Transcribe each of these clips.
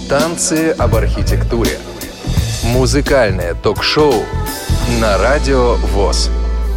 Танцы об архитектуре. Музыкальное ток-шоу на Радио ВОС.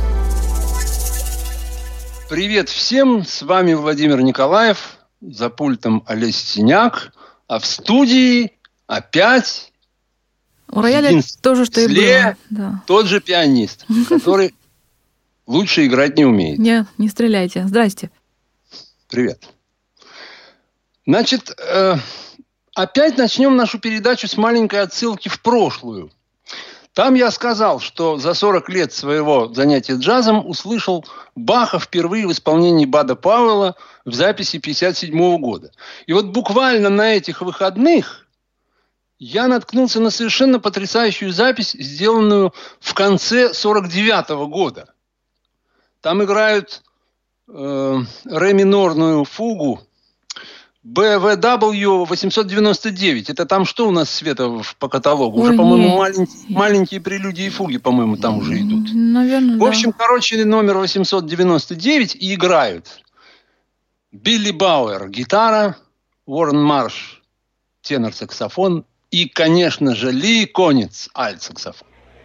Привет всем, с вами Владимир Николаев, за пультом Олесь Синяк, а в студии опять у рояля то же, что и было. Да. Тот же пианист, который лучше играть не умеет. Не стреляйте. Здрасте. Привет. Значит, опять начнем нашу передачу с маленькой отсылки в прошлую. Там я сказал, что за 40 лет своего занятия джазом услышал Баха впервые в исполнении Бада Пауэлла в записи 1957 года. И вот буквально на этих выходных я наткнулся на совершенно потрясающую запись, сделанную в конце 1949 года. Там играют ре минорную фугу BWV 899. Это там что у нас, Света, по каталогу? Уже, по-моему, маленькие прелюдии и фуги, по-моему, там уже идут. Наверное, в общем, номер 899 и играют Билли Бауэр, гитара, Уоррен Марш, тенор-саксофон и, конечно же, Ли Конец, альт-саксофон.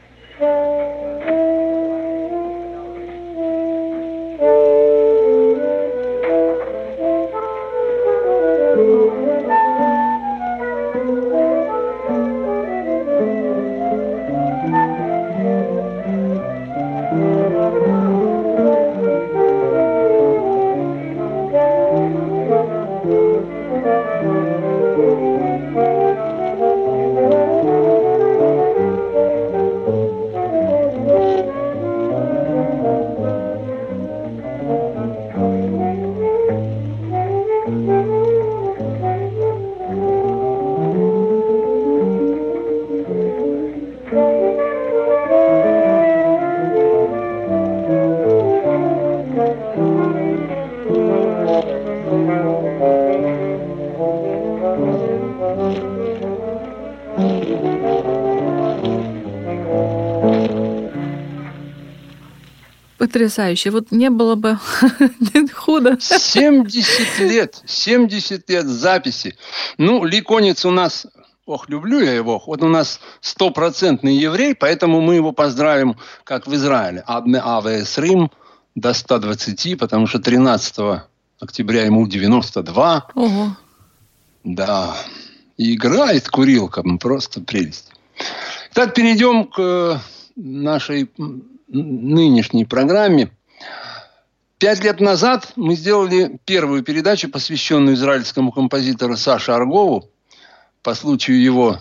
Потрясающе. Вот не было бы худо. 70 лет записи. Ну, Ли Конец у нас, люблю я его, вот у нас 100% еврей, поэтому мы его поздравим, как в Израиле. Адме АВС Рим до 120, потому что 13 октября ему 92. Ого. Да. И играет курилка, просто прелесть. Так, перейдем к нашей нынешней программе. 5 лет назад мы сделали первую передачу, посвященную израильскому композитору Саше Аргову по случаю его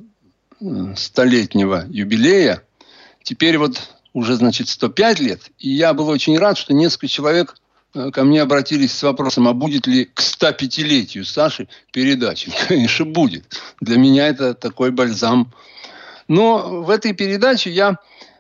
100-летнего юбилея. Теперь вот уже, 105 лет. И я был очень рад, что несколько человек ко мне обратились с вопросом, а будет ли к 105-летию Саши передача? Конечно, будет. Для меня это такой бальзам. Но в этой передаче я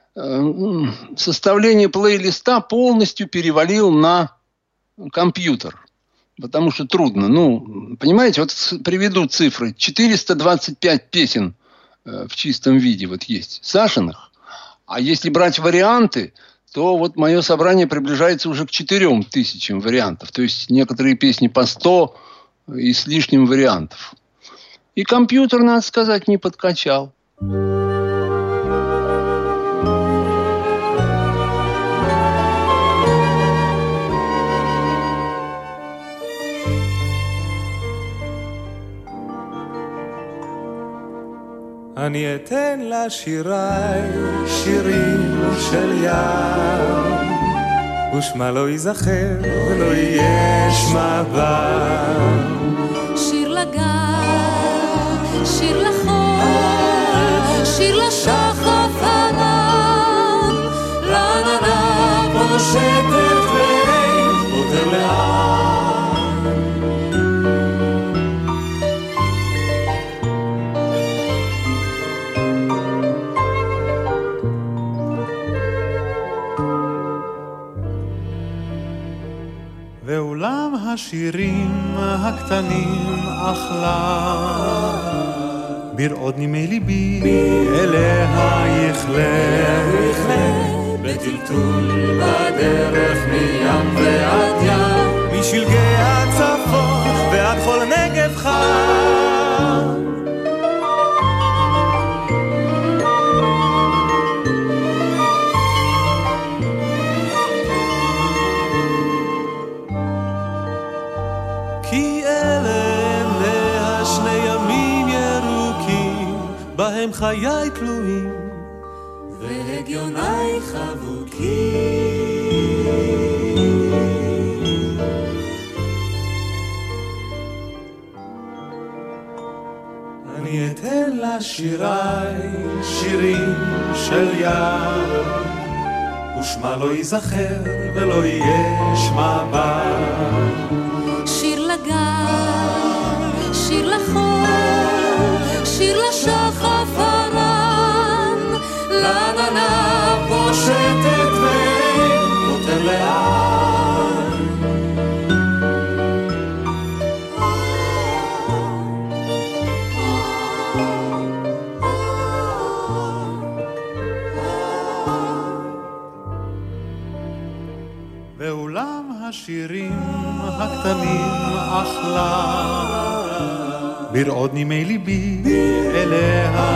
составление плейлиста полностью перевалил на компьютер. Потому что трудно. Понимаете, вот приведу цифры. 425 песен в чистом виде вот есть Сашиных. А если брать варианты, то вот мое собрание приближается уже к 4000 вариантов. То есть некоторые песни по 100 и с лишним вариантов. И компьютер, надо сказать, не подкачал. אני אתן לשיריי שירים של ים ושמה לא ייזכר ולא יהיה שמה בם שיר לגן, שיר לחול, שיר לשחף ענן לעננה פושטת ואין פותר לאן ואולם השירים הקטנים אכלה ברעוד נימי ליבי אליה יכלה בטלטול בדרך מים ועד ים משלגי הצפון ועד כל נגב חם אלה עיניה שני ימים ירוקים בהם חיי תלויים והגיוני חבוקים אני אתן לשיריי שירים של יער ושמה לא ייזכר ולא יהיה שמה בה שיר לגן, שיר לחור, שיר לשחף הרם לעננה פושטת ונותן לאן ואולם השירים הקטנים אכלה ברעוד נימי ליבי אליה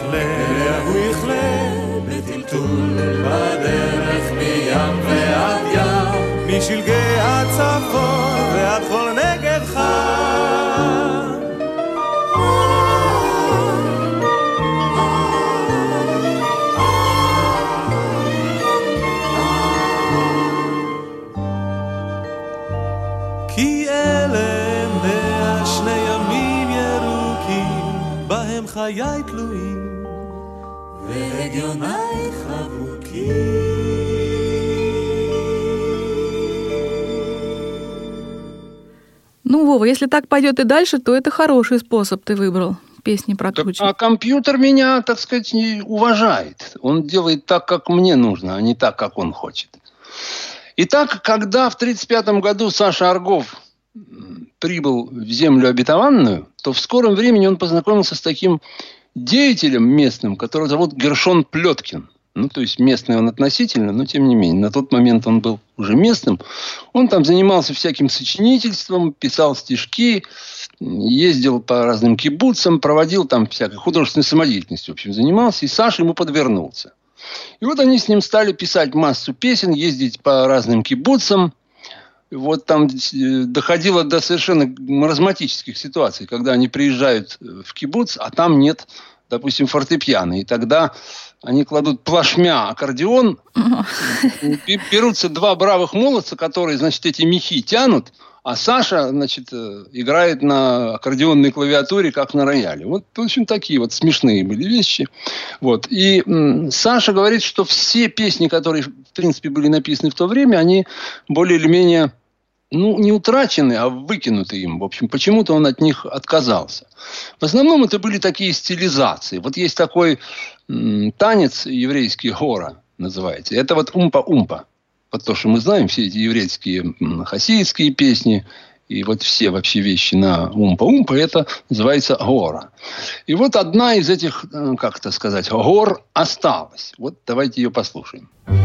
יכלה בטלטול בדרך מים ועד ים משלגי הצפון ועד כל נגב חם כי אלה עיניה שני ימים ירוקים בהם חיי תלויים והגיוני חבוקים Ну, Вова, если так пойдет и дальше, то это хороший способ ты выбрал. Песни прокручивать. А компьютер меня, так сказать, не уважает. Он делает так, как мне нужно, а не так, как он хочет. Итак, когда в 1935 году Саша Аргов прибыл в землю обетованную, то в скором времени он познакомился с таким деятелем местным, которого зовут Гершон Плеткин. Ну, то есть местный он относительно, но тем не менее. На тот момент он был уже местным. Он там занимался всяким сочинительством, писал стишки, ездил по разным кибуцам, проводил там всякой художественной самодеятельностью, в общем, занимался. И Саша ему подвернулся. И вот они с ним стали писать массу песен, ездить по разным кибуцам. Вот там доходило до совершенно маразматических ситуаций, когда они приезжают в кибуц, а там нет, допустим, фортепиано. И тогда они кладут плашмя аккордеон, берутся два бравых молодца, которые, значит, эти мехи тянут, а Саша, значит, играет на аккордеонной клавиатуре, как на рояле. Вот, в общем, такие вот смешные были вещи. Вот. И Саша говорит, что все песни, которые, в принципе, были написаны в то время, они более или менее, ну, не утрачены, а выкинуты им. В общем, почему-то он от них отказался. В основном это были такие стилизации. Вот есть такой танец еврейский, гора называется. Это вот умпа-умпа. Вот то, что мы знаем, все эти еврейские хасидские песни и вот все вообще вещи на умпа-умпа, это называется гора. И вот одна из этих, как это сказать, гор осталась. Вот давайте ее послушаем.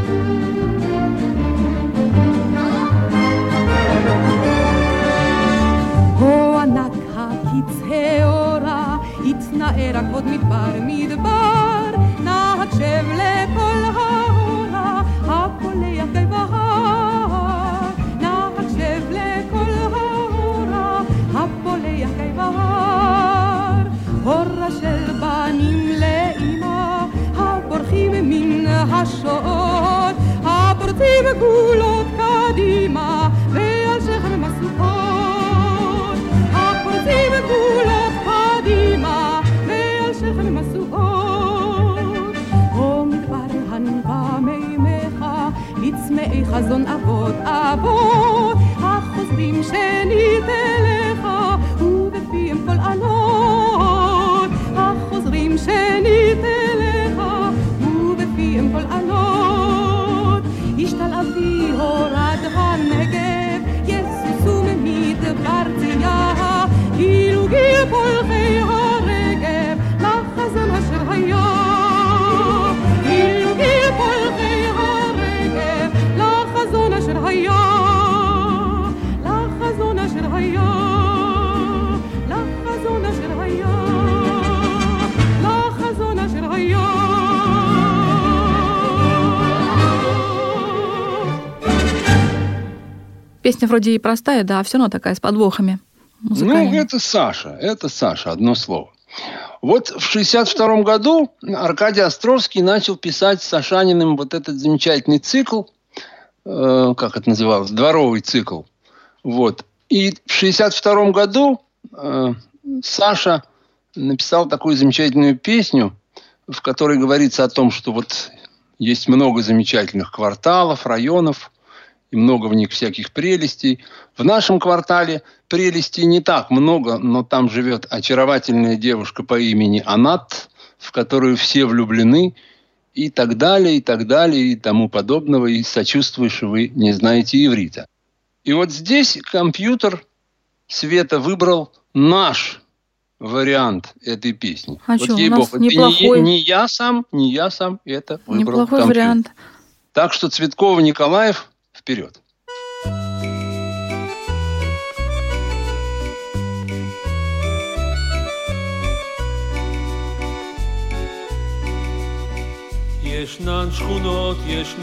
התנער הכבוד מדבר מדבר נהקשב לכל ההורה הפולח גיא בהר נהקשב לכל ההורה הפולח גיא בהר הורה של בנים לאמא הבורחים מן השואות הפורצים גולות קדימה ועל שכם הסוכות הפורצים גולות קדימה ועל שכם מסועות או מדבר הנבא מימיך לצמאי חזון אבות אבות החוזרים שנית אליך ובפיהם כל ענות החוזרים שנית אליך ובפיהם כל ענות ישתל אבי הורד הנגב יסוסו ממדבר צייה אילו גיל פולחי הרגב לחזון אשר היה אילו גיל פולחי הרגב לחזון אשר היה לחזון אשר היה לחזון אשר היה לחזון אשר היה Песня вроде и простая, да, а все равно такая с подвохами. музыкальный? это Саша, одно слово. Вот в 1962 году Аркадий Островский начал писать с Сашаниным вот этот замечательный цикл, как это называлось, дворовый цикл. Вот. И в 1962 году Саша написал такую замечательную песню, в которой говорится о том, что вот есть много замечательных кварталов, районов, и много в них всяких прелестей. В нашем квартале прелестей не так много, но там живет очаровательная девушка по имени Анат, в которую все влюблены, и так далее, и тому подобного, и сочувствую, что вы не знаете иврита. И вот здесь компьютер Света выбрал наш вариант этой песни. А вот что, у нас неплохой... не я сам это выбрал Неплохой компьютер. вариант. Так что Цветкова, Николаев, вперед. ישנן שכונות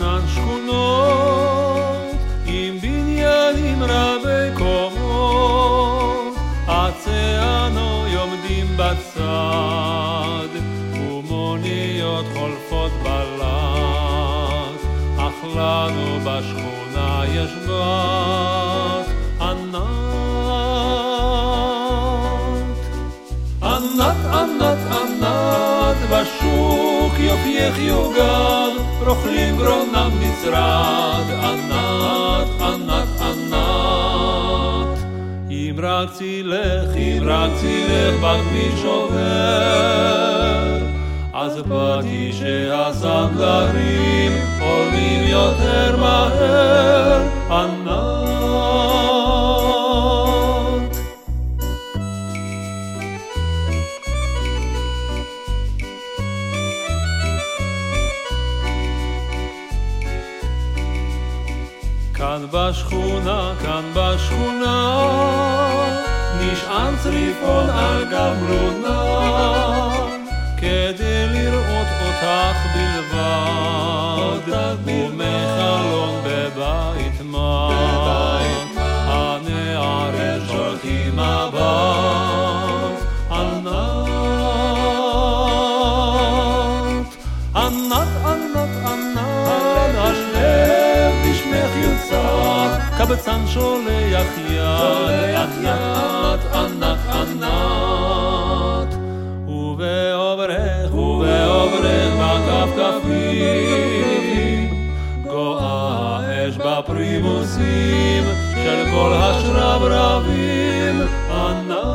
עם בניינים רבי קומות, עצי הנוי עומדים בצד ומוניות חולפות בלט, אך לנו בשכונה יש בת ענת בשוק יופייך יוגר, רוכלים גרונם נצרד, ענת אם רק צילך בכביש עובר, אז באתי שהסנדלרים עולים יותר מהר, ענת כאן בשכונה נשען צריפון על גמלונה כדי לראות אותך בלבד ומחלון בבית מת הנערים שולחים מבט ענת השלב בשמך יוצא קבצן שולח יד ענת ובעוברך בכפכפים גואה אש בפרימוסים של כל השרברבים ענת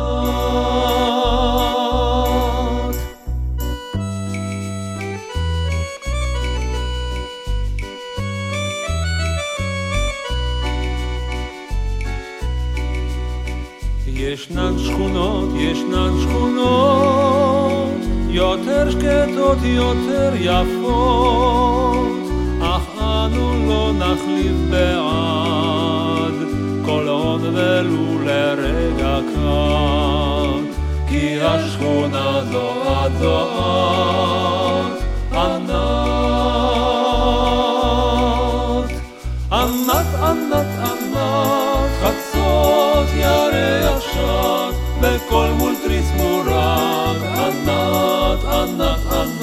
ישנן שכונות יותר שקטות, יותר יפות, אך אנו לא נחליף בעד כל עוד ולו לרגע קט, כי השכונה זו את ענת חצות ירח שט בכל מול תריס מורג ענת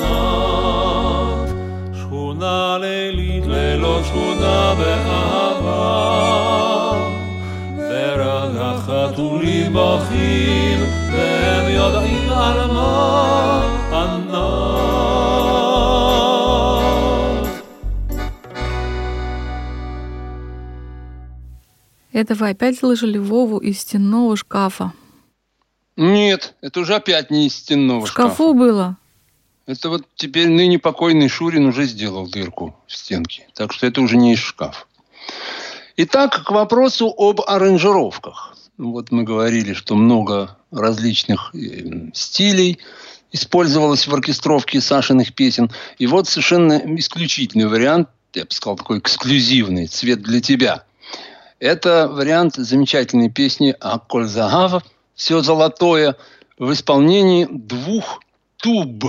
שכונה לילית ללא שכונה באהבה ורק החתולים בוכים והם יודעים על מה ענת Это вы опять слышали Вову из стенного шкафа? Нет, это уже опять не из стенного шкафа. В шкафу было. Это вот теперь ныне покойный Шурин уже сделал дырку в стенке. Так что это уже не из шкафа. Итак, к вопросу об аранжировках. Вот мы говорили, что много различных стилей использовалось в оркестровке Сашиных песен. И вот совершенно исключительный вариант, я бы сказал, такой эксклюзивный, «Цвет для тебя». Это вариант замечательной песни «Аколь Загав», «Все золотое», в исполнении двух туб.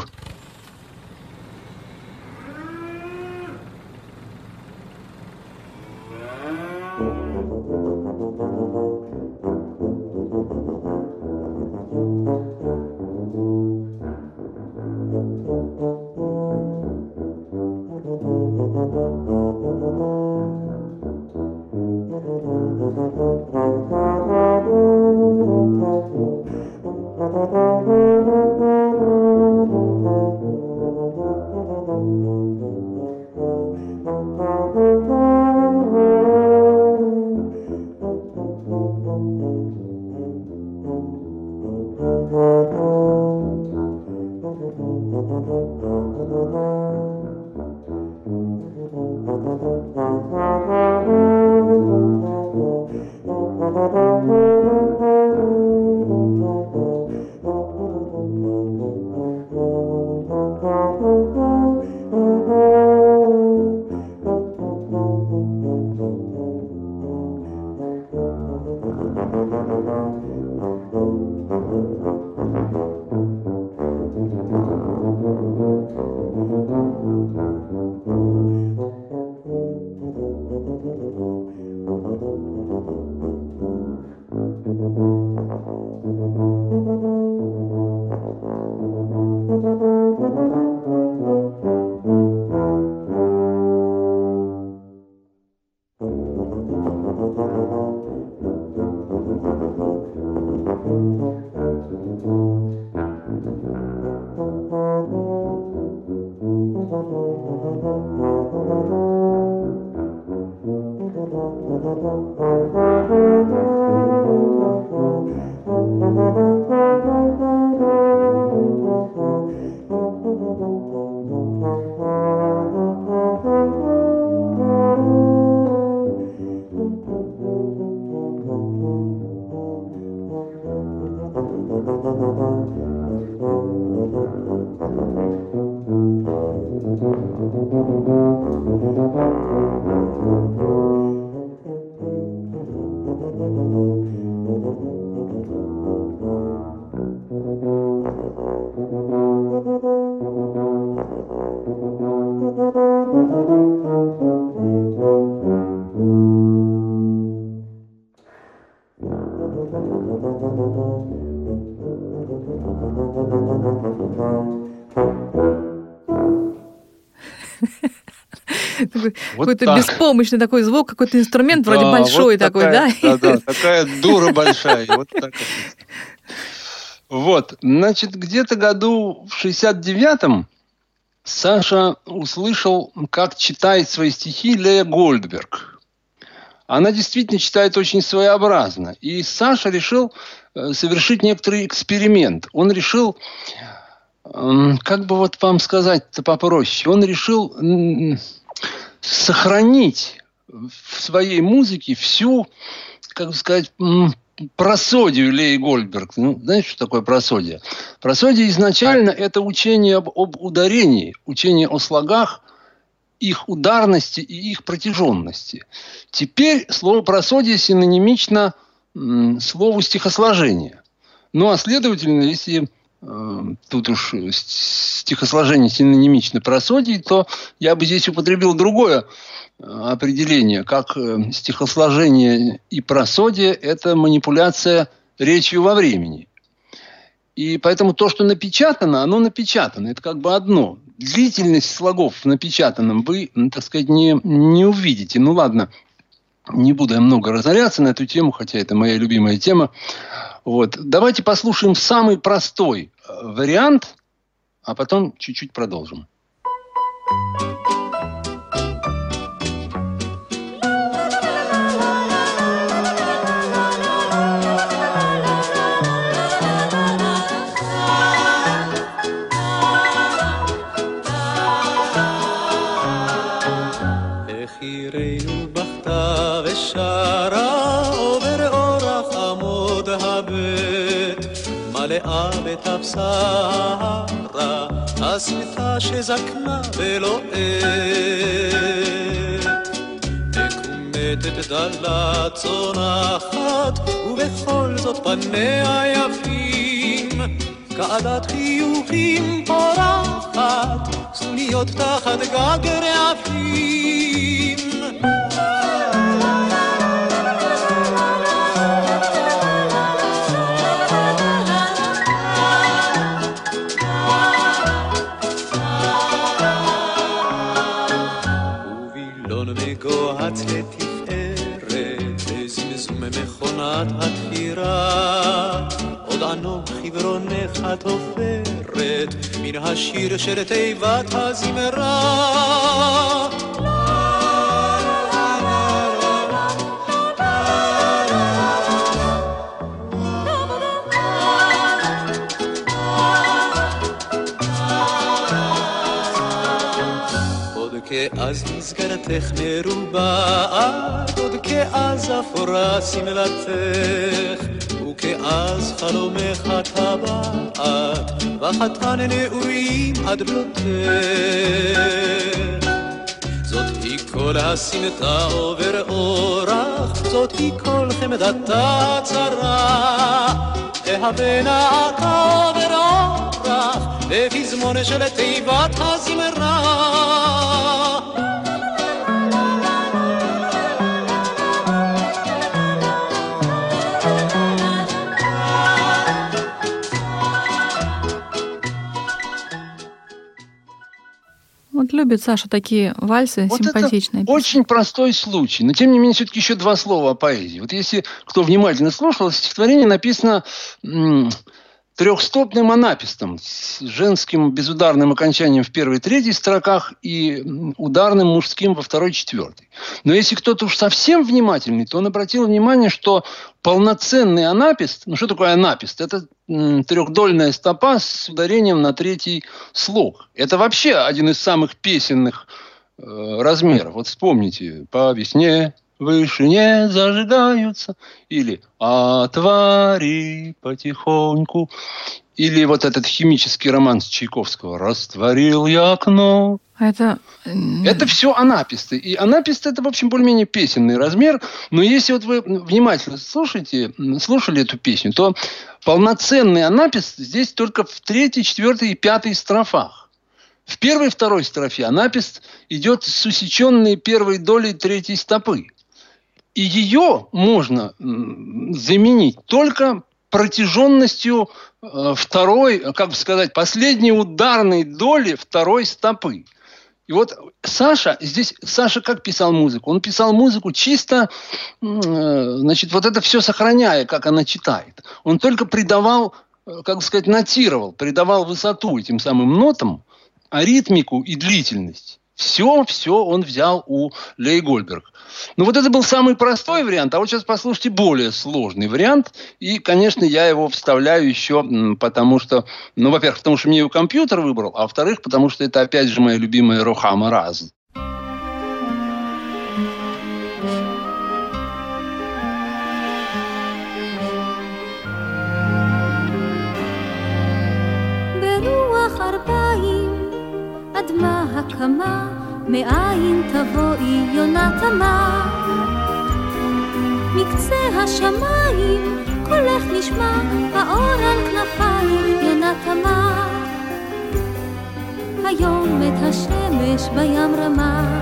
Какой-то беспомощный такой звук, какой-то инструмент вроде большой вот такой, такая, да? Да, такая дура большая. Вот так. Вот, значит, где-то году в 69-м Саша услышал, как читает свои стихи Лея Гольдберг. Она действительно читает очень своеобразно. И Саша решил совершить некоторый эксперимент. Он решил, как бы вот вам сказать-то попроще, он решил сохранить в своей музыке всю, как бы сказать, просодию Леи Гольдберг. Ну, знаете, что такое просодия? Просодия изначально это учение об ударении, учение о слогах, их ударности и их протяженности. Теперь слово просодие синонимично слову стихосложение. Ну, а следовательно, если тут уж стихосложение синонимично просодии, то я бы здесь употребил другое определение, как стихосложение и просодие – это манипуляция речью во времени. И поэтому то, что напечатано, оно напечатано. Это как бы одно. Длительность слогов в напечатанном вы, так сказать, не увидите. Ну ладно, не буду я много разоряться на эту тему, хотя это моя любимая тема. Вот. Давайте послушаем самый простой вариант, а потом чуть-чуть продолжим. מלאה בתבשרה, השמיכה שזקנה ולוהט, מקומטת דלה צונחת, ובכל זאת פניה יפים, כעדת חיוכים פורחת, סנוניות תחת גג רעפים. גוהץ לתפארת, וזמזום מכונת התפירה, עוד ענו חברונך תופרת מן השיר של תיבת הזמרה. כאז מסגרתך מרובעת, עוד כאז אפורה שמלתך, וכאז חלומך טבעת, וחתן נעורים עד בלותך. זאת היא כל הסמטה עובר אורח, זאת היא כל חמדתה צרה, תהווה עובר אורח, בפזמון של תיבת הזמרה. Вот любит Саша такие вальсы Вот симпатичные. Это очень простой случай. Но, тем не менее, все-таки еще два слова о поэзии. Вот если кто внимательно слушал, стихотворение написано трехстопным анапистом с женским безударным окончанием в первой и третьей строках и ударным мужским во второй и четвертой. Но если кто-то уж совсем внимательный, то он обратил внимание, что полноценный анапист, ну что такое анапист? Это трехдольная стопа с ударением на третий слог. Это вообще один из самых песенных размеров. Вот вспомните, по весне в вышине зажигаются, или «Отвори потихоньку», или вот этот химический романс Чайковского «Растворил я окно». Это все анаписты. И анапист – это, в общем, более-менее песенный размер. Но если вот вы внимательно слушали эту песню, то полноценный анапист здесь только в третьей, четвертой и пятой строфах. В первой и второй строфе анапист идет с усеченной первой долей третьей стопы. И ее можно заменить только протяженностью второй, как бы сказать, последней ударной доли второй стопы. И вот Саша как писал музыку? Он писал музыку чисто, значит, вот это все сохраняя, как она читает. Он только придавал, как бы сказать, нотировал, придавал высоту этим самым нотам, а ритмику и длительность. Все он взял у Леи Гольдберг. Ну, вот это был самый простой вариант, а вот сейчас послушайте более сложный вариант. И, конечно, я его вставляю еще, потому что, ну, во-первых, потому что мне его компьютер выбрал, а во-вторых, потому что это, опять же, моя любимая Рухама Раз. אדמה הקמה, מאין תבואי יונה תמה. מקצה השמיים, קולך נשמע, האור על כנפיים, יונה תמה. היום את השמש בים רמה,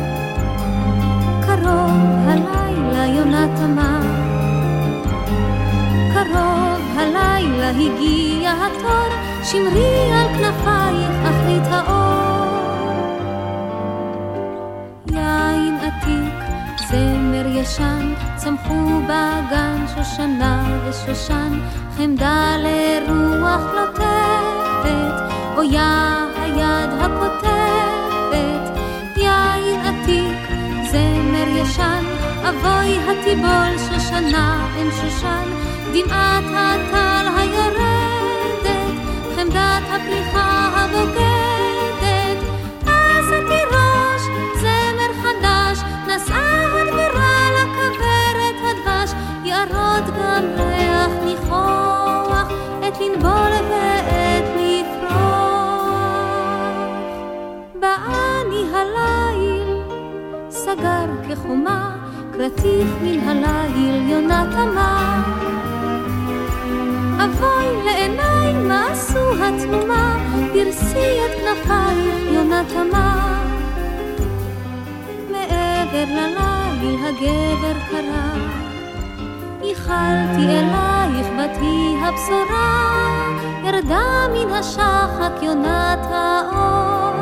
קרוב הלילה יונה תמה. קרוב הלילה הגיע התור, שמרי על כנפייך אחרית האור. יין עתיק, זמר ישן, צמחו בגן שושנה ושושן, חמדה לרוח לוטפת, אויה היד הכותבת. יין עתיק, זמר ישן, אבוי התיבול שושנה אין שושן, דמעת הטל היורדת, חמדת הפריחה הבוגדת. אז התירוש, זמר חדש, נסעה הדבורה לכברת הדבש, יערות גם ריח ניחוח, את לנבול ואת לפרוח. בעני הליל, סגר כחומה, קרטיך מן הליל יונה תמה. אבוי לעיניי מה עשו התנומה, פרסי את כנפייך יונה תמה. מעבר לליל הגבר קרא, ייחלתי אלייך בתי הבשורה, ירדה מן השחק יונת האור.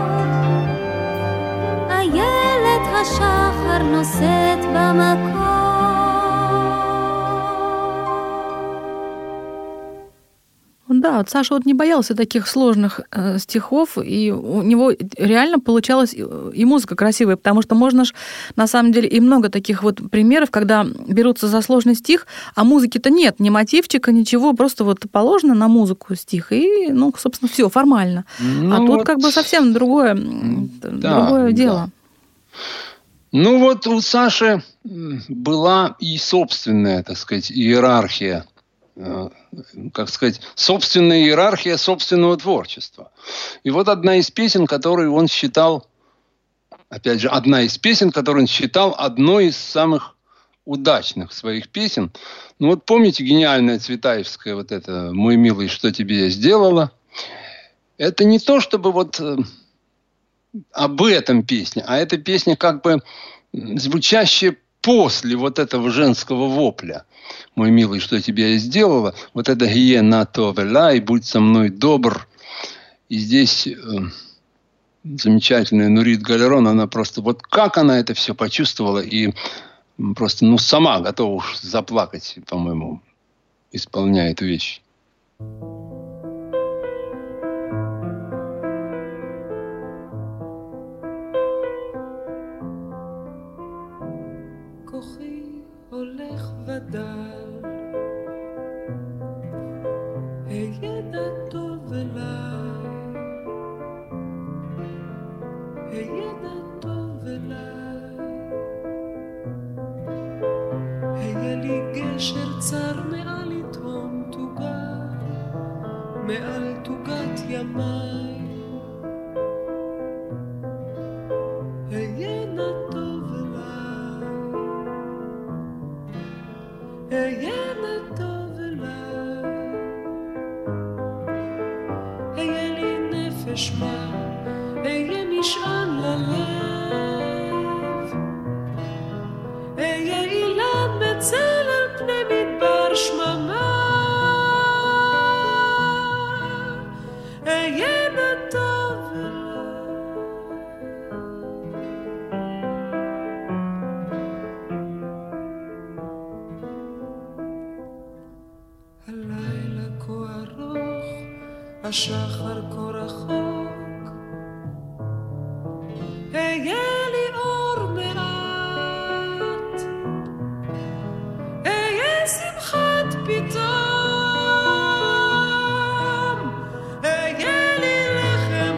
איילת השחר נושאת במקום. да, вот Саша вот не боялся таких сложных стихов, и у него реально получалась и музыка красивая, потому что можно ж, на самом деле, и много таких вот примеров, когда берутся за сложный стих, а музыки-то нет, ни мотивчика, ничего, просто вот положено на музыку стих, и, ну, собственно, все формально. Ну, а тут как бы совсем другое дело. Ну вот у Саши была и собственная, так сказать, иерархия, как сказать, собственная иерархия собственного творчества. И вот одна из песен, которую он считал, опять же, одной из самых удачных своих песен. Ну вот помните гениальная Цветаевская вот это «Мой милый, что тебе я сделала»? Это не то, чтобы вот об этом песня, а это песня как бы звучащая после вот этого женского вопля. «Мой милый, что тебе я сделала?» Вот это «Гие на то велай», «Будь со мной добр». И здесь замечательная Нурит Галерон, она просто, вот как она это все почувствовала и просто, ну, сама готова уж заплакать, по-моему, исполняя эту вещь. השחר כה רחוק, היה לי אור מעט, היה שמחת פתאום, היה לי לחם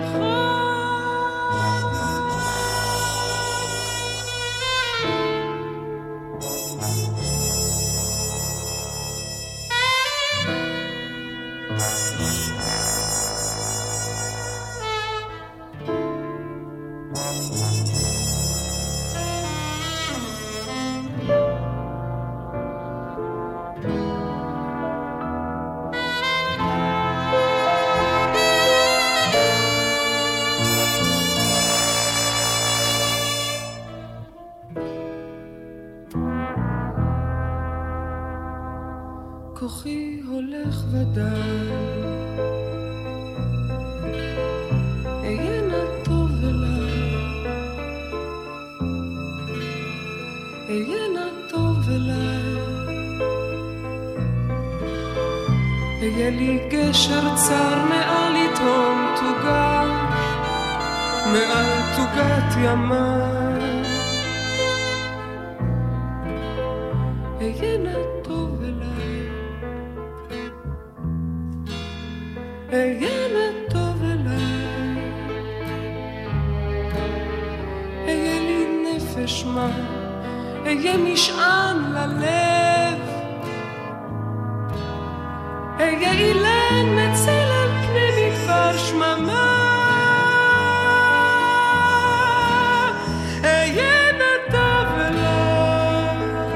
כוחי הולך ודל, היה נא טוב אליי, היה נא טוב אליי, היה לי גשר צר מעל יתהום תוגה, מעל תוגת ימיי, היה נא טוב אליי, היה נא טוב אליי, היה לי נפש מה, היה משען ללב, היה אילן מצל על פני מדבר שממה, היה נא טוב אליי,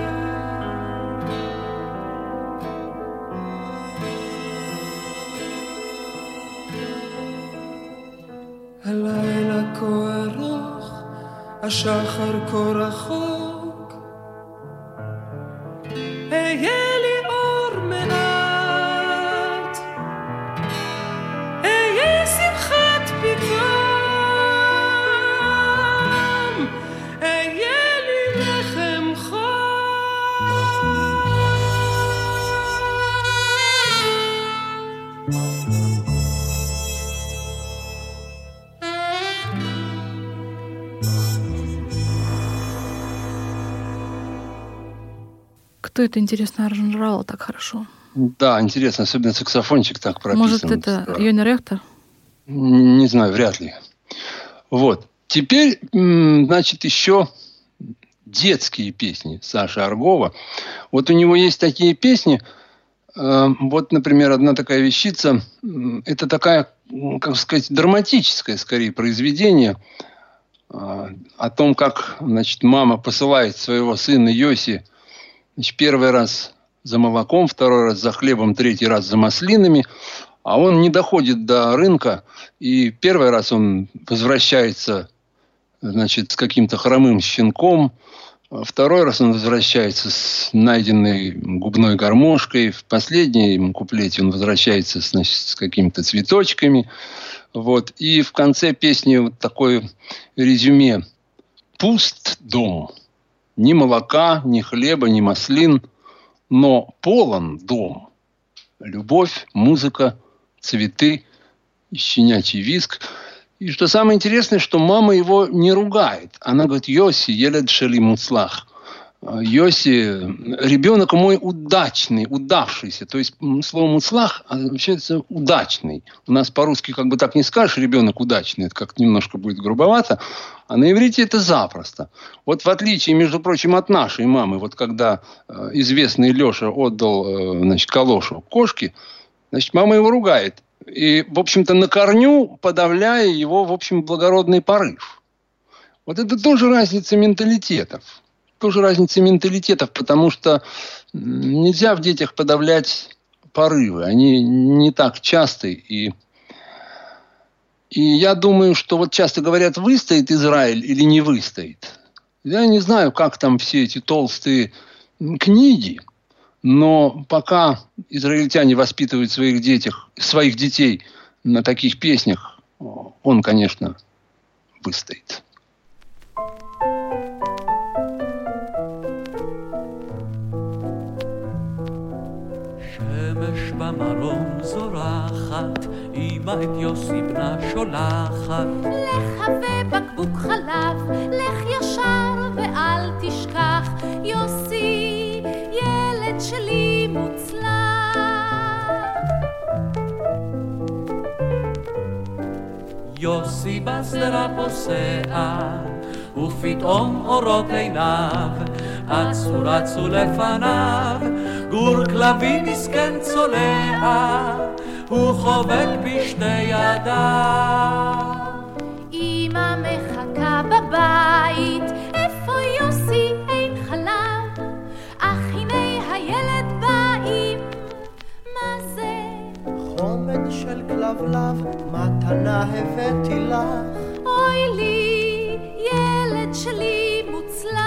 הלילה כה ארוך, השחר כה רחוק, היה לי אור מעט, היה שמחת פתאום, היה לי לחם חום. Кто это, интересно, аранжировал так хорошо? Да, интересно, особенно саксофончик так прописан. Может, это Йони Рехтер? Не знаю, вряд ли. Вот. Теперь, значит, еще детские песни Саши Аргова. Вот у него есть такие песни. Вот, например, одна такая вещица. Это такая, как сказать, драматическое, скорее, произведение о том, как, значит, мама посылает своего сына Йоси, значит, первый раз за молоком, второй раз за хлебом, третий раз за маслинами. А он не доходит до рынка. И первый раз он возвращается, значит, с каким-то хромым щенком. Второй раз он возвращается с найденной губной гармошкой. В последнем куплете он возвращается, значит, с какими-то цветочками. Вот. И в конце песни вот такое резюме. Пуст дом. Ни молока, ни хлеба, ни маслин. Но полон дом. Любовь, музыка, цветы, щенячий визг. И что самое интересное, что мама его не ругает. Она говорит: Йоси, елед шели муцлах. Йоси, ребенок мой удачный, удавшийся. То есть слово муцлах означает удачный. У нас по-русски как бы так не скажешь, ребенок удачный. Это как-то немножко будет грубовато. А на иврите это запросто. Вот в отличие, между прочим, от нашей мамы, вот когда известный Леша отдал, значит, калошу кошке, значит, мама его ругает. И, в общем-то, на корню подавляя его, в общем, благородный порыв. Вот это тоже разница менталитетов. Тоже разница менталитетов, потому что нельзя в детях подавлять порывы. Они не так часты. И я думаю, что вот часто говорят, выстоит Израиль или не выстоит. Я не знаю, как там все эти толстые книги, но пока израильтяне воспитывают своих детей на таких песнях, он, конечно, выстоит. שמש במרום זורחת, אמא את יוסי בנה שולחת. לך ובקבוק חלב, לך ישר ואל תשכח, יוסי, ילד שלי מוצלח. יוסי בשדרה פוסע, ופתאום אורות עיניו, אצו רצו לפניו, גור כלבים מסכן צולע, הוא חובק בשתי ידיו. אמא מחכה בבית, איפה יוסי אין חלב, אך הנה הילד באים, מה זה? חומד של כלבלב, מתנה הבאתי לך. אוי לי, ילד שלי מוצלח.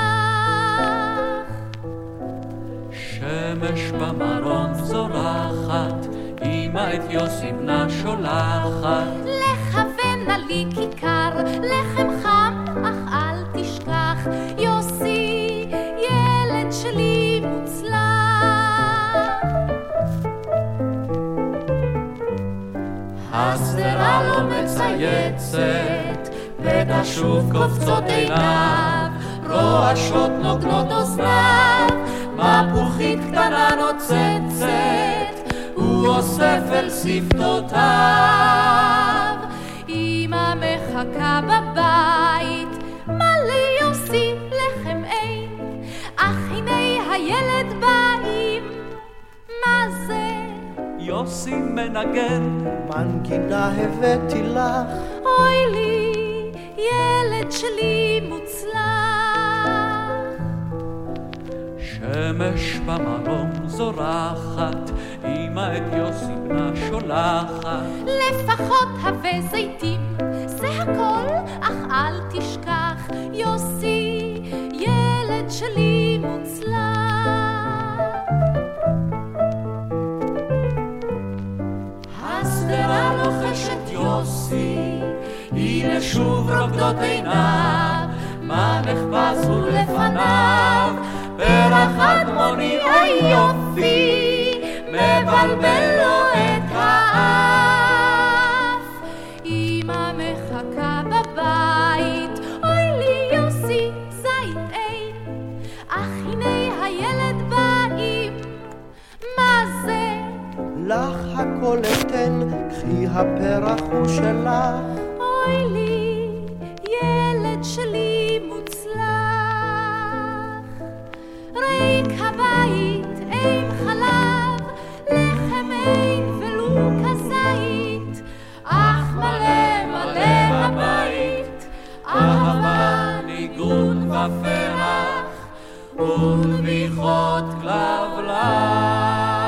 שמש במרום זורחת, אמא את יוסי בנה שולחת. לכוונה לי כיכר, לחם חם, אך אל תשכח, יוסי, ילד שלי מוצלח. השדרה לא מצייצת, ותשוב קופצות עיניו, רועשות נוגנות אוזניו, מפוחית קטנה נוצצת, הוא אוסף אל שפתותיו. אמא מחכה בבית, מה ליוסי לחם אין, אך הנה הילד באים, מה זה? יוסי מנגן, מנגינה הבאתי לך. אוי לי, ילד שלי מוצלח. שמש במרום זורחת, אמא את יוסי בנה שולחת. לפחות הווה זיתים, זה הכל, אך אל תשכח, יוסי, ילד שלי מוצלח. השדרה לוחשת יוסי, הנה שוב רוקדות עיניו, מה נחפש הוא לפניו, פרח אדמוני אוי יופי, מבלבל לו את האף. אמא מחכה בבית, אוי לי יוסי זית אין, אך הנה הילד באים, מה זה? לך הכל אתן, קחי הפרח הוא שלך. אוי לי, ילד שלי מוצלח, ריק הבית, אין חלב, לחם אין ולו כזית, אך מלא מלא הבית, אהבה, ניגון ופרח, ונביחות כלבלב.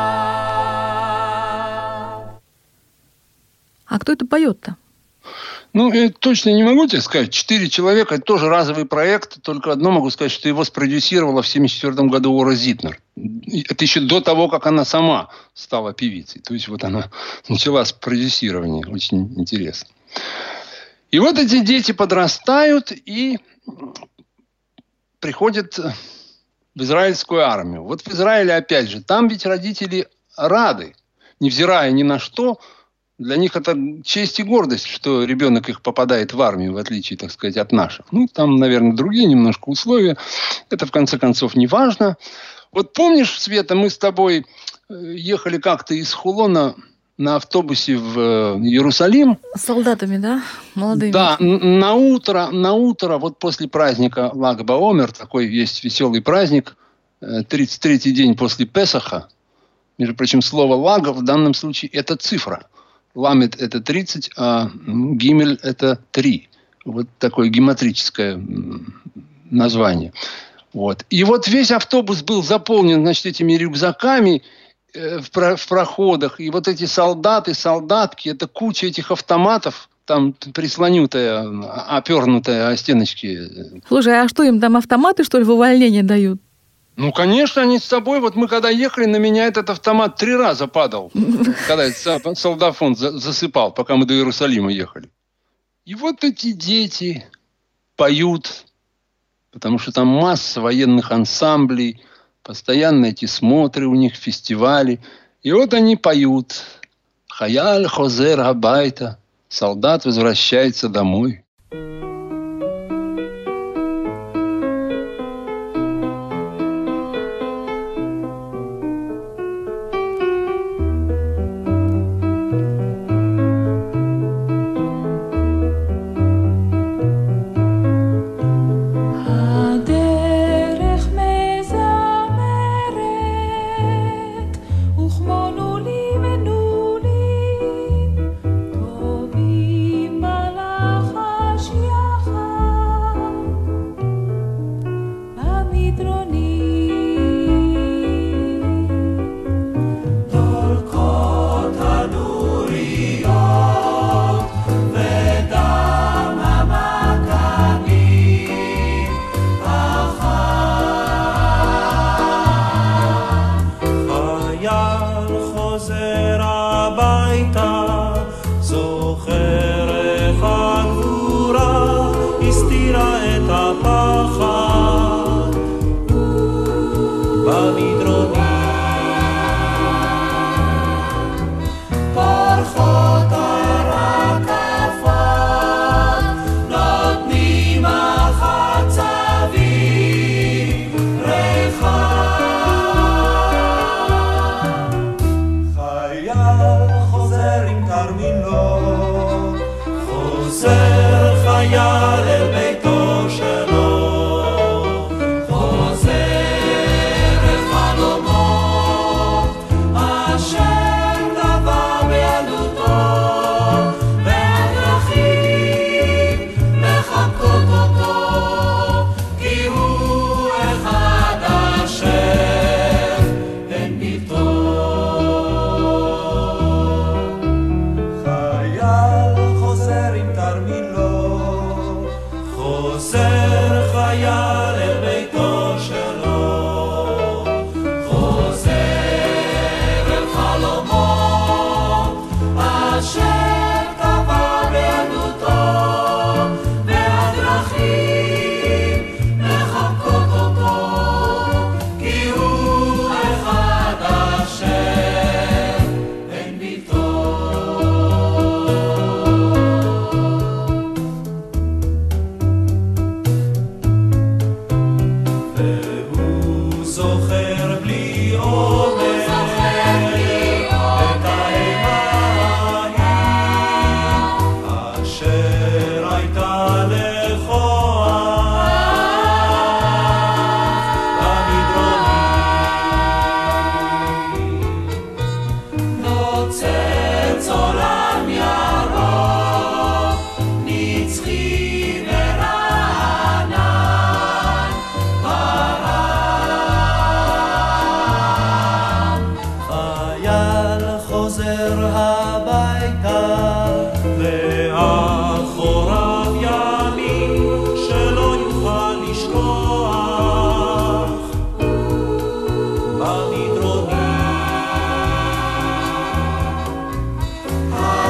А кто это поет-то? Ну, я точно не могу тебе сказать. 4 человека – это тоже разовый проект. Только одно могу сказать, что его спродюсировала в 1974 году Ора Зитнер. Это еще до того, как она сама стала певицей. То есть вот она начала с продюсирования. Очень интересно. И вот эти дети подрастают и приходят в израильскую армию. Вот в Израиле, опять же, там ведь родители рады, невзирая ни на что. Для них это честь и гордость, что ребенок их попадает в армию, в отличие, так сказать, от наших. Ну, там, наверное, другие немножко условия. Это, в конце концов, не важно. Вот помнишь, Света, мы с тобой ехали как-то из Хулона на автобусе в Иерусалим. С солдатами, да? Молодыми. Да, на утро, вот после праздника Лаг ба-Омер, такой есть веселый праздник, 33-й день после Песаха. Между прочим, слово «лага» в данном случае – это цифра. Ламет – это 30, а гимель – это 3. Вот такое гематрическое название. Вот. И вот весь автобус был заполнен, значит, этими рюкзаками в проходах. И вот эти солдаты, солдатки – это куча этих автоматов, там прислонутая, опернутая о стеночки. Слушай, а что, им там автоматы, что ли, в увольнение дают? Ну, конечно, они с собой. Вот мы когда ехали, на меня этот автомат 3 раза падал, когда этот солдафон засыпал, пока мы до Иерусалима ехали. И вот эти дети поют, потому что там масса военных ансамблей, постоянно эти смотры у них, фестивали. И вот они поют. «Хаяль хозер абайта». Солдат возвращается домой.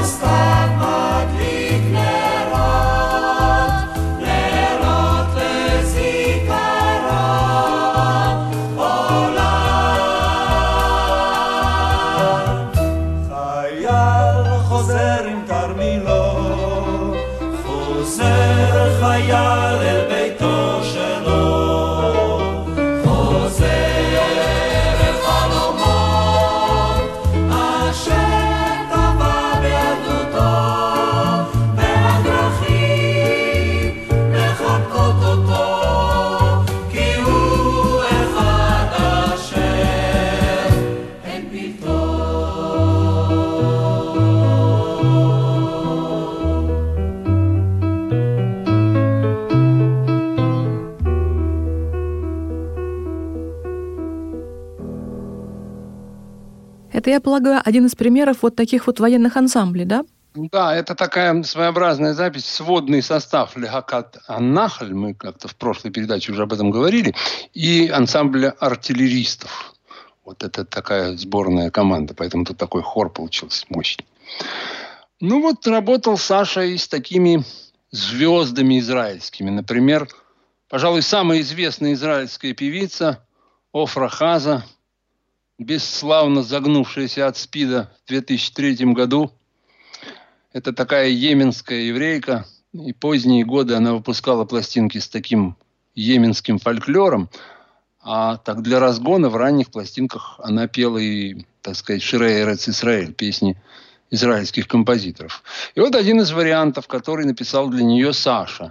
Это, я полагаю, один из примеров вот таких вот военных ансамблей, да? Да, это такая своеобразная запись, сводный состав Лехакат Аннахаль, мы как-то в прошлой передаче уже об этом говорили, и ансамбля артиллеристов. Вот это такая сборная команда, поэтому тут такой хор получился мощный. Ну вот работал Саша и с такими звездами израильскими. Например, пожалуй, самая известная израильская певица Офра Хаза, бесславно загнувшаяся от СПИДа в 2003 году. Это такая йеменская еврейка. И поздние годы она выпускала пластинки с таким йеменским фольклором. А так для разгона в ранних пластинках она пела и, так сказать, «Ширей Эрец Исраэль», песни израильских композиторов. И вот один из вариантов, который написал для нее Саша.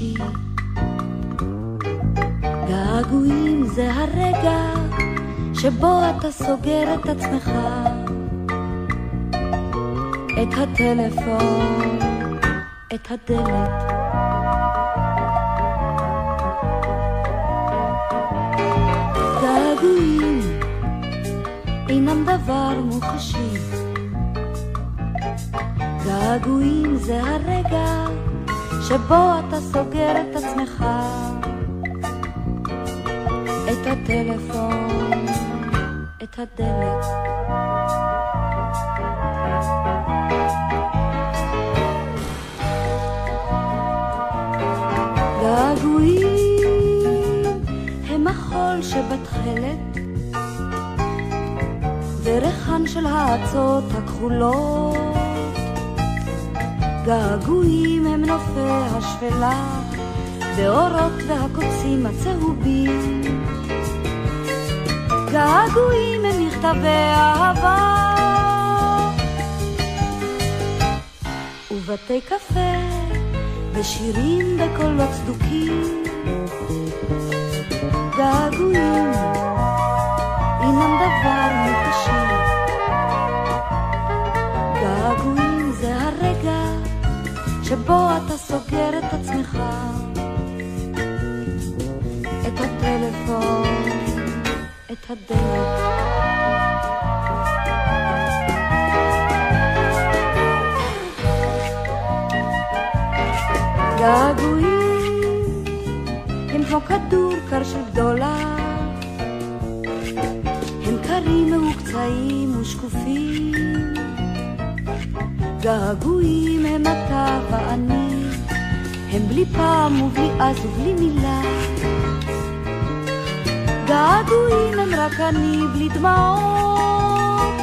מוחשי. געגועים זה הרגע שבו אתה סוגר את עצמך, את הטלפון, את הדלת. געגועים אינם דבר מוחשי. געגועים זה הרגע שבו אתה סוגר את עצמך, את הטלפון, את הדלת. געגועים הם החול שבתחלת וריחן של העצות הכחולות. געגועים הם נופי השפלה ואורות והקוצים הצהובים. געגועים הם מכתבי אהבה ובתי קפה ושירים בקולות צדוקים. געגועים אינם דבר מוחשי. געגועים זה הרגע שבו אתה סוגר את עצמך, את הטלפון, את הדלת. געגועים הם כמו כדור קר של גדולה, הם קרים מהוקצעים ושקופים. געגועים הם אתה ואני, הם בלי פעם ובלי אז ובלי מילה. געגועים הם רק אני בלי דמעות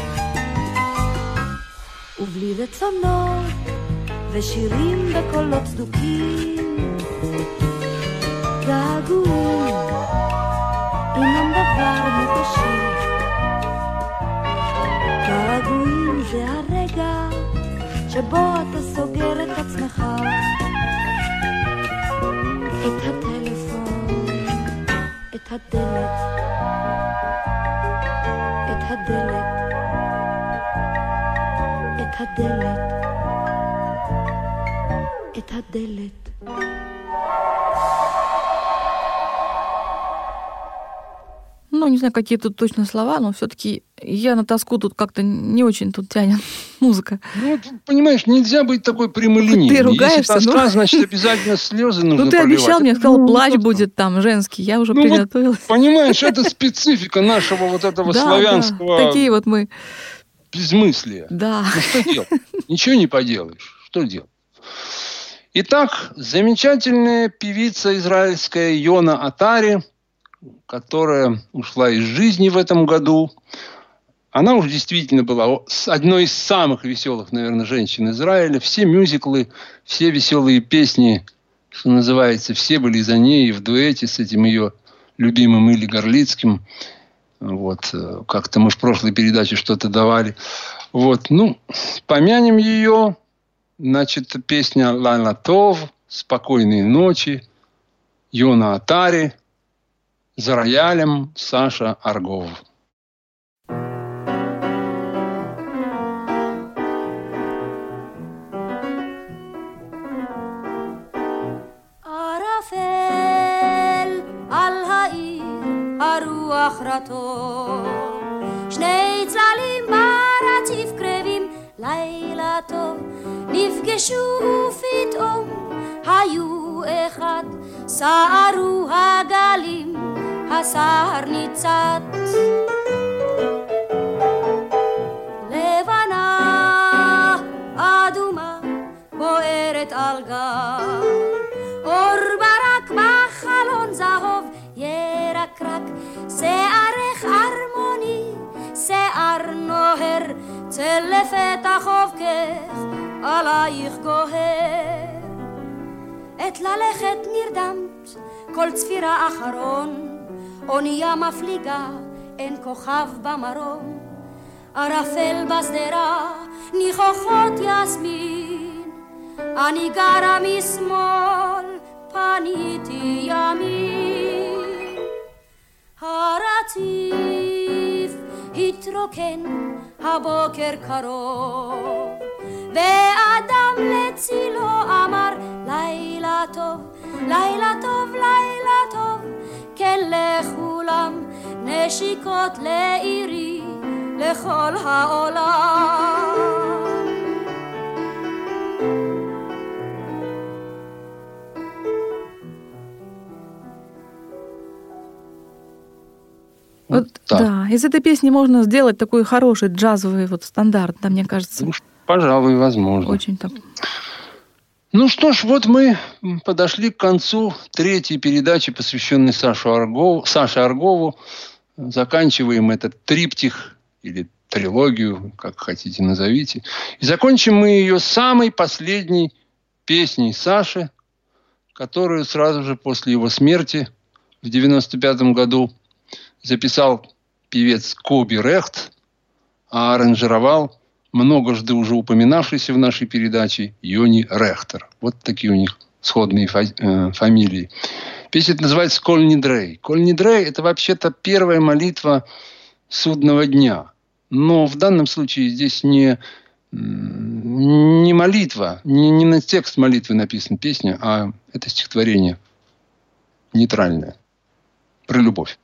ובלי רצונות ושירים בקולות צדוקים. געגועים אינם דבר מוחשי. געגועים זה הרגע שבו אתה סוגר את עצמך, את הטלפון, את הדלת, את הדלת, את הדלת, את הדלת. Ну, не знаю, какие тут точно слова, но все-таки я на тоску тут как-то не очень тут тянет музыка. Ну, понимаешь, нельзя быть такой прямолинейной. Ты ругаешься, если тоска, значит, обязательно слезы нужно Ну, ты проливать. обещал мне, сказал, плач будет там женский, я уже приготовилась. Вот, понимаешь, это специфика нашего вот этого славянского... Да, такие вот мы. Безмыслия. Да. Ну, что делать? Ничего не поделаешь. Что делать? Итак, замечательная певица израильская Йона Атари, которая ушла из жизни в этом году. Она уж действительно была одной из самых веселых, наверное, женщин Израиля. Все мюзиклы, все веселые песни, что называется, все были за ней в дуэте с этим ее любимым Илли Горлицким. Вот, как-то мы в прошлой передаче что-то давали. Вот, ну, помянем ее. Значит, песня «Лайла Тов», «Спокойные ночи», Йона Атари, за роялем Саша Аргов. ערפל על העיר הרוח רטוב, שני צללים ברציף קרבים, לילה טוב, נפגשו ופתאום היו אחד, סערו הגלים, הסהר ניצת. לבנה אדומה בוערת על גב, אור ברק בחלון זהוב ירקרק, שערך ארמוני, שיער נוהר, צל לפתח חובקך עלייך גוהר. את ללכת נרדמת כל צפירה אחרון, אונייה מפליגה, אין כוכב במרום. ערפל בשדרה, ניחוחות יסמין, אני גרה משמאל פניתי ימין. הרציף התרוקן, הבוקר קרוב, ואדם לצילו אמר לילה טוב, לילה טוב, לילה טוב. כן לכולם נשיקות לעירי, לכל העולם. Вот, да, из этой песни можно сделать такой хороший джазовый вот стандарт, да, мне кажется. Ну, пожалуй, возможно. Очень так. Ну что ж, вот мы подошли к концу третьей передачи, посвященной Саше Аргову. Заканчиваем этот триптих или трилогию, как хотите назовите. И закончим мы ее самой последней песней Саши, которую сразу же после его смерти в 1995 году записал певец Коби Рехт, а аранжировал многожды уже упоминавшийся в нашей передаче Йони Рехтер. Вот такие у них сходные фамилии. Песня называется «Коль Нидрей». «Коль Нидрей» – это вообще-то первая молитва судного дня. Но в данном случае здесь не молитва, не на текст молитвы написана песня, а это стихотворение нейтральное про любовь.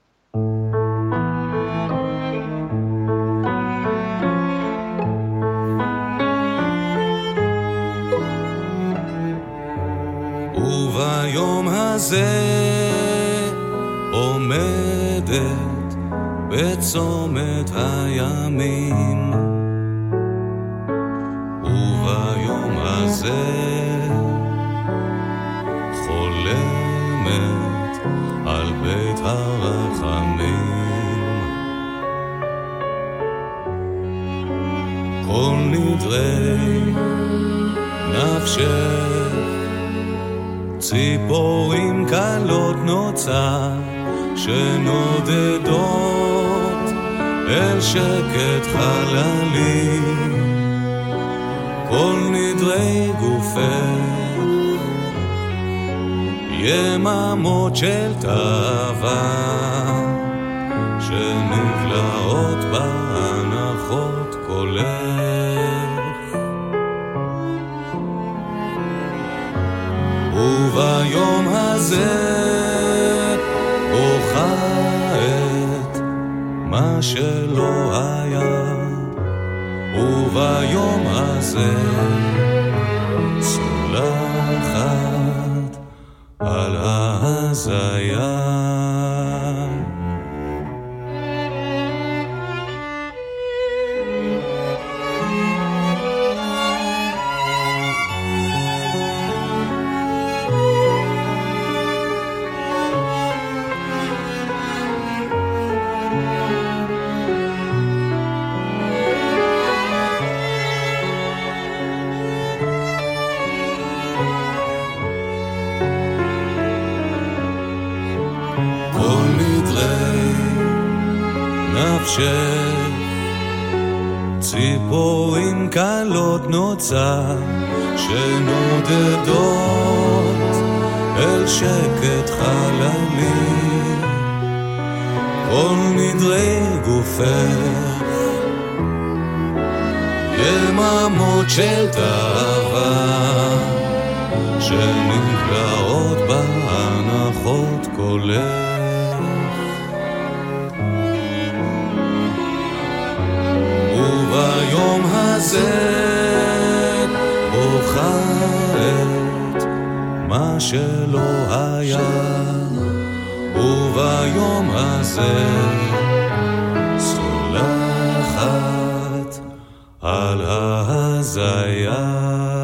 וביום הזה עומדת בצומת הימים, וביום הזה חולמת על בית הרחמים. כל נדרי נפשך ציפורים קלות נוצה שנודדות אל שקט חללי. כל נדרי גופך יממות של תאווה שנבלעות בהנחות קולך. וביום הזה בוכה את מה שלא היה, וביום הזה סולחת על ההזיה. ציפורים קלות נוצה שנודדות אל שקט חללי. כל נדרי גופך יממות של תאווה שנבלעות בהנחות קולך. וביום הזה בוכה את מה שלא היה, וביום הזה סולחת על ההזיה.